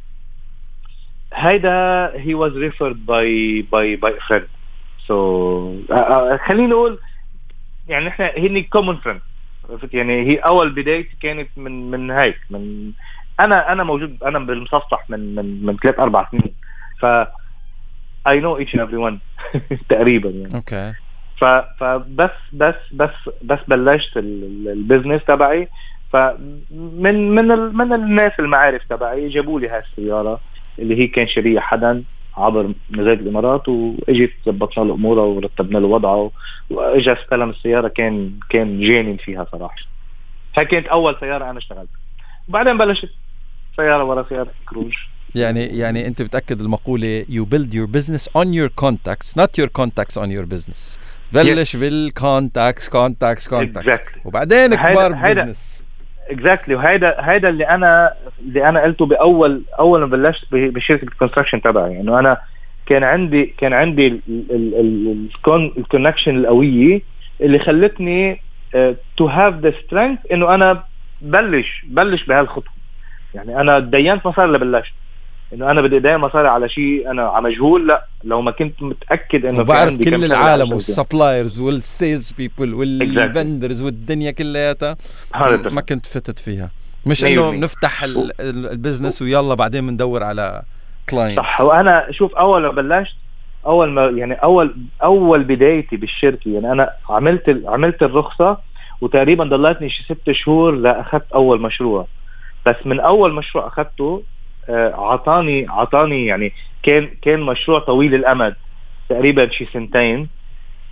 هيدا he was referred by by by a friend. so uh, uh, خليني نقول يعني احنا هني common friend. يعني هي اول بداية كانت من من هيك من انا انا موجود انا بالمصفح من من من ثلاث اربع سنين. ف I know each and everyone تقريبا يعني. اوكي. ف فبس بس بس بس بلشت البزنس تبعي. فمن من ال من الناس المعارف تبعي جابوا لي هاي السيارة اللي هي كان شرية حدا عبر مزاد الامارات، واجت زبطنا له اموره ورتبنا له وضعه واجا استلم السياره. كان كان جانن فيها صراحه. هاي كانت اول سياره انا اشتغلت. وبعدين بلشت سياره ورا سياره كروج. يعني يعني انت بتاكد المقوله you build your business on your contacts not your contacts on your business. بلش بالكونتاكس كونتاكس كونتاكس وبعدين كبار بزنس. اكزاكتلي. وهيدا هيدا اللي انا اللي انا قلته باول اول ما بلشت بشركه الكونستراكشن تبعي. انه انا كان عندي كان عندي الكونكشن القويه اللي خلتني تو هاف ذا سترينث انه انا بلش بلش بهالخطوه. يعني انا ديانت مصاري اللي بلشت انه انا بدي دايما مصاري على شيء انا على مجهول. لا لو ما كنت متاكد انه بعرف كل العالم والسبلايرز والسيلز بيبل والفندرز والدنيا كلياتها ما كنت فتت فيها. مش انه نفتح البزنس ويلا بعدين بندور على كلاينتس. صح. وانا شوف اول ما بلشت اول ما يعني اول اول بدايتي بالشركه يعني انا عملت عملت الرخصه وتقريبا ضلتني شي ست شهور لاخذت اول مشروع. بس من اول مشروع اخذته عطاني عطاني يعني كان كان مشروع طويل الامد تقريبا شي سنتين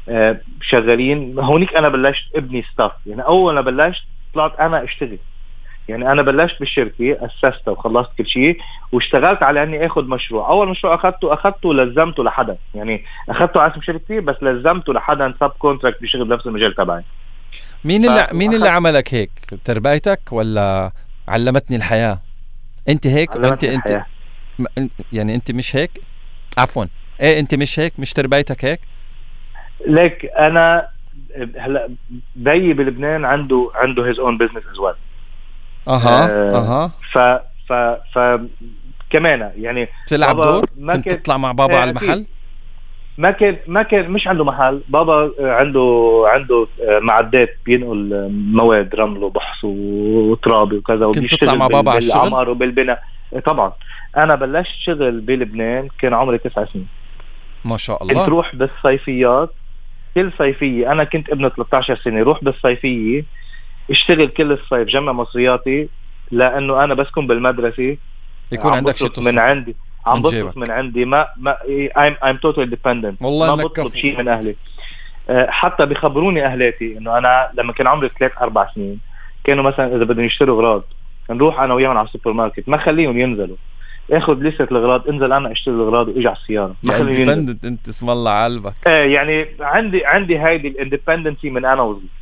شغالين. هونيك انا بلشت ابني ستاف. يعني اول ما بلشت طلعت انا اشتغل. يعني انا بلشت بالشركه اسستها وخلصت كل شيء واشتغلت على اني اخذ مشروع. اول مشروع اخذته اخذته لزمته لحدا، يعني اخذته على اسم شركتي بس لزمته لحدا سب كونتراكت بيشتغل بنفس المجال تبعي. مين اللي مين اللي عملك هيك؟ تربيتك ولا علمتني الحياه؟ انت هيك انت انت يعني انت مش هيك؟ عفوا ايه انت مش هيك؟ مش تربيتك هيك؟ ليك انا هلا بيي بلبنان عنده عنده هيز اون بزنس از ويل. اها اها ف ف ف كمان يعني بتلعب دور؟ كنت تطلع مع بابا على المحل؟ ما كان ما كان مش عنده محل. بابا عنده عنده معدات بينقل مواد رمل وبحص وتراب وكذا، كنت تطلع مع بابا على الشغل؟ بالعمار وبالبناء طبعا. انا بلشت شغل بلبنان كان عمري تسع سنين. ما شاء الله. كنت روح بالصيفيات كل صيفية. أنا كنت ابن ثلاثة عشر سنة، روح بالصيفية اشتغل كل الصيف جمع مصرياتي، لأنه أنا بسكن بالمدرسة يكون عندك شيء تصرف من عندي، عم بصرف من عندي. ما ما I'm I'm totally dependent. والله ما بطلب شيء من أهلي. حتى بيخبروني أهلاتي إنه أنا لما كان عمري ثلاث أربع سنين كانوا مثلا إذا بدهم يشتروا أغراض نروح أنا وياهم على السوبر ماركت، ما خليهم ينزلوا، اخذ لسه الاغراض، انزل انا اشتري الاغراض واجي على السياره. ما خليني اندبندنت انت اسم الله على قلبك. ايه يعني عندي عندي هايدي الاندبندنسي من انا وصغير.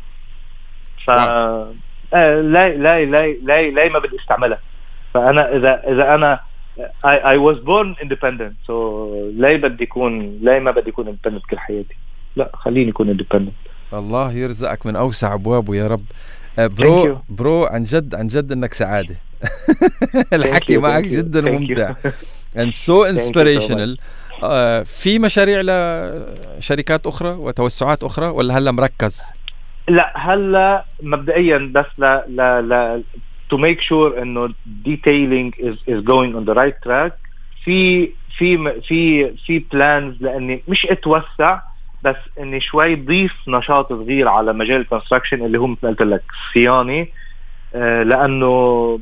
ف آه لا لا لا لا لا ما بدي استعملها. فانا اذا اذا انا I, I was born independent, so لا بدي يكون لا ما بدي يكون independent كل حياتي. لا خليني يكون independent. الله يرزقك من اوسع ابوابه يا رب. برو برو عن جد عن جد انك سعاده. الحكي معك جدا ممتع and so inspirational. uh, في مشاريع لشركات أخرى وتوسعات أخرى ولا هلا مركز؟ لا هلا مبدئيا بس لا لا لا to make sure إنه detailing is is going on the right track. في في في في plans لأني مش اتوسع بس إني شوي ضيف نشاط صغير على مجال الكونستراكشن اللي هو مثل قلت لك صيانة. uh, لأنه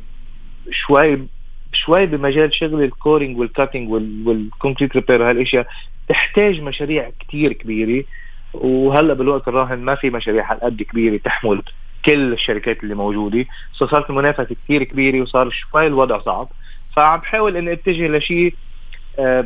شوي شوي بمجال شغل الكورينج والكاتينج والكونكريت ريبير وهالاشياء تحتاج مشاريع كتير كبيرة، وهلا بالوقت الراهن ما في مشاريع هالقد كبيرة تحمل كل الشركات اللي موجودة. صارت المنافسة كتير كبيرة وصار شوي الوضع صعب. فعم بحاول اني اتجه لشيء آه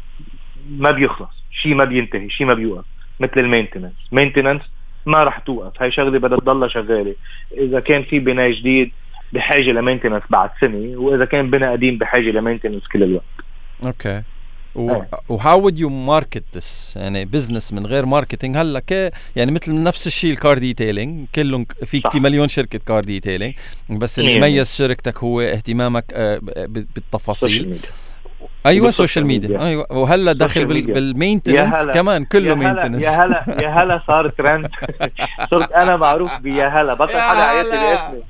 ما بيخلص، شيء ما بينتهي، شيء ما بيوقف، مثل المينتننس. مينتننس ما رح توقف، هاي شغلة بدها تضلها شغالة. اذا كان في بناء جديد بحاجة لمينتننس بعد سنة، وإذا كان بنا قديم بحاجة لمينتننس كل الوقت. أوكي. و how would you market this؟ يعني business من غير ماركتينج هلا كي يعني مثل نفس الشيء الكار ديتيلينج، كلهم في كتير مليون شركة كار ديتيلينج، بس اللي يميز شركتك هو اهتمامك بالتفاصيل. ايوه سوشيال ميديا. ايوه وهلا داخل بالمينتننس كمان كله مينتننس. يا هلا يا هلا صار ترند. صرت انا معروف بيا هلا، بطل حدا عيط لي باسمي.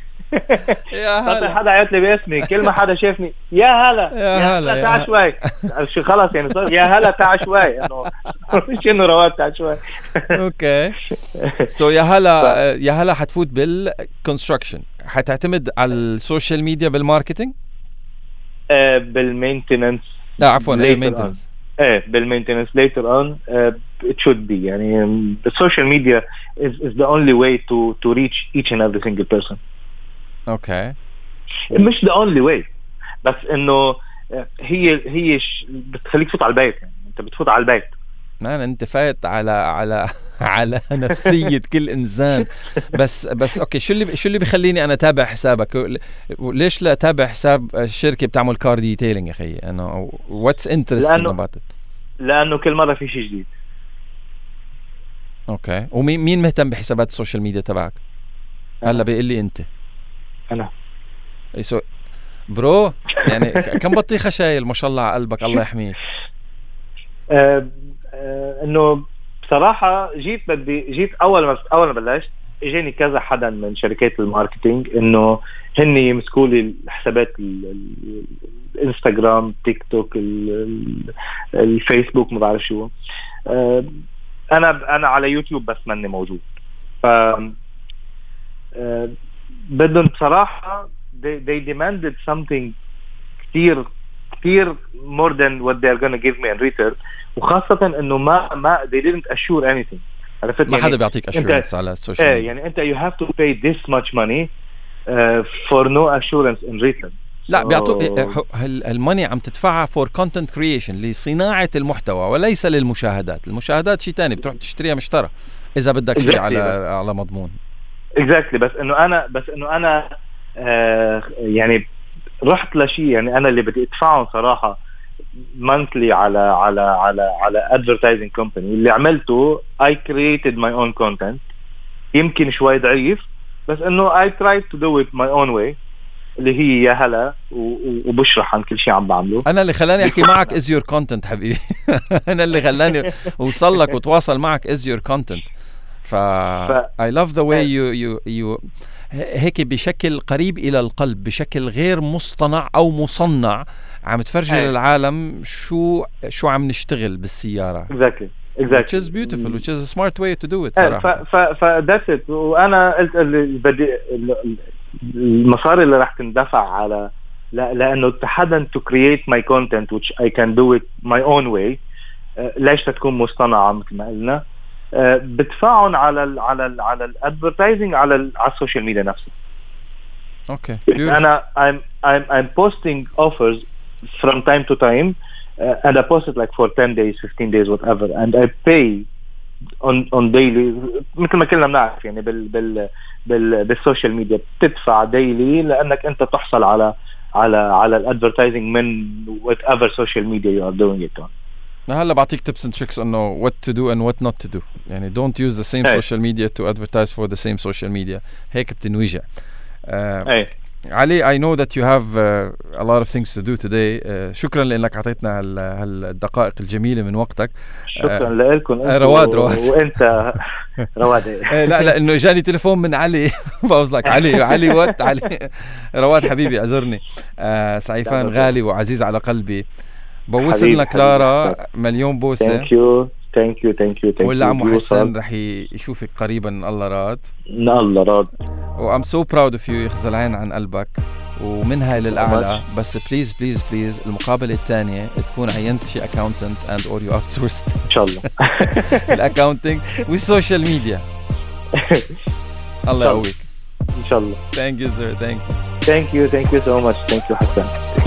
يا هلا بطل حدا عيط لي باسمي، كل ما حدا شافني يا هلا يا هلا تعال شوي شو خلص يعني صار يا هلا تعال شوي، انه مش انه رواد تعال شوي. اوكي سو يا هلا يا هلا حتفوت بالكونستراكشن، حتعتمد على السوشيال ميديا بالماركتينج؟ آه بالمينتننس. لا عفوا ايه مينتننس. ايه بالمينتننس later on uh, it should be يعني the social media is is the only way to to reach each and every single person. اوكي مش the only way بس انه هي هي بتخليك تفوت على البيت. يعني انت بتفوت على البيت. ما انت فايت على على على نفسية كل انسان. بس بس اوكي شو اللي شو اللي بيخليني انا اتابع حسابك؟ ليش لا اتابع حساب الشركة بتعمل كار ديتيلينج يا اخي؟ انه واتس انترستينج اباوت ات؟ لانه كل مرة في شيء جديد. اوكي ومين مين مهتم بحسابات السوشيال ميديا تبعك؟ هلا بيقول لي انت. انا ايسو برو يعني كم بطيخة شايل ما شاء الله على قلبك الله يحميك. أه أه انه بصراحة جيت بدي جيت اول ما اول ما بلشت اجاني كذا حدا من شركات الماركتينج انه هن يمسكوا لي الحسابات الانستغرام تيك توك الفيسبوك ما بعرف شو. أه انا انا على يوتيوب بس ماني موجود. ف أه بدهم بصراحة they, they demanded something كتير كتير more than what they are gonna give me in return. وخاصة انه ما ما they didn't assure anything. عرفت ما يعني حدا بيعطيك assurance على السوشيال ميديا. يعني انت you have to pay this much money uh, for no assurance in return. لا بيعطوك الماني عم تدفعها for content creation لصناعة المحتوى وليس للمشاهدات. المشاهدات شيء تاني بتروح تشتريها مشترى إذا بدك شيء على على مضمون. exactly بس إنه أنا بس إنه أنا آه يعني رحت لشيء يعني أنا اللي بدي أدفعهم صراحة monthly على على على على advertising company. اللي عملته I created my own content يمكن شوي ضعيف بس إنه I tried to do it my own way اللي هي يا هلا وبشرح عن كل شيء عم بعمله. أنا اللي خلاني أحكي معك is your content حبيبي. أنا اللي خلاني وصل لك وتواصل معك is your content. ف I love the way you you you هيك بشكل قريب إلى القلب بشكل غير مصطنع أو مصنع عم تفرجي للعالم شو شو عم نشتغل بالسيارة. exactly exactly which is beautiful which is a smart way to do it صراحة. ف ف ف that's it. وأنا قلت اللي بدي المصاري اللي راح تندفع على لا لأنه تحدن to create my content which I can do it my own way. ليش تكون مصطنعة مثل ما قلنا بدفعهم على ال على ال على الادفرتايزنج على ال على السوشيال ميديا نفسها. اوكي انا I'm I'm I'm posting offers from time to time uh, and I post it like for ten days fifteen days whatever and I pay on on daily مثل ما كلنا بنعرف يعني بال بال بال بالسوشيال ميديا بتدفع daily لانك انت تحصل على على على الادفرتايزنج من whatever social media you are doing it on. هلا بعطيك tips and tricks انه what to do and what not to do. يعني don't use the same hey. social media to advertise for the same social media. هيك بتنوجع. Uh, hey. علي I know that you have uh, a lot of things to do today. Uh, شكرا لأنك عطيتنا هال هالدقائق الجميلة من وقتك. شكرا uh, لكم. رواد رواد وانت رواد. لا لا انه جاني تليفون من علي فاوز لك علي علي وات علي رواد حبيبي اعذرني. uh, سعيفان غالي وعزيز على قلبي. بوصل لك لارا مليون بوسة. Thank you thank you thank you thank ولا عمو حسن رح يشوفك قريبا الله راد. الله راد. و I'm so proud of you يخزل عين عن قلبك ومن هاي للأعلى. بس بليز بليز بليز المقابلة الثانية تكون عينت شي accountant and or you outsourced إن شاء الله الأكاونتينج والسوشيال ميديا. الله يقويك إن شاء الله. Thank you sir. Thank you. Thank you thank you so much. Thank you حسن.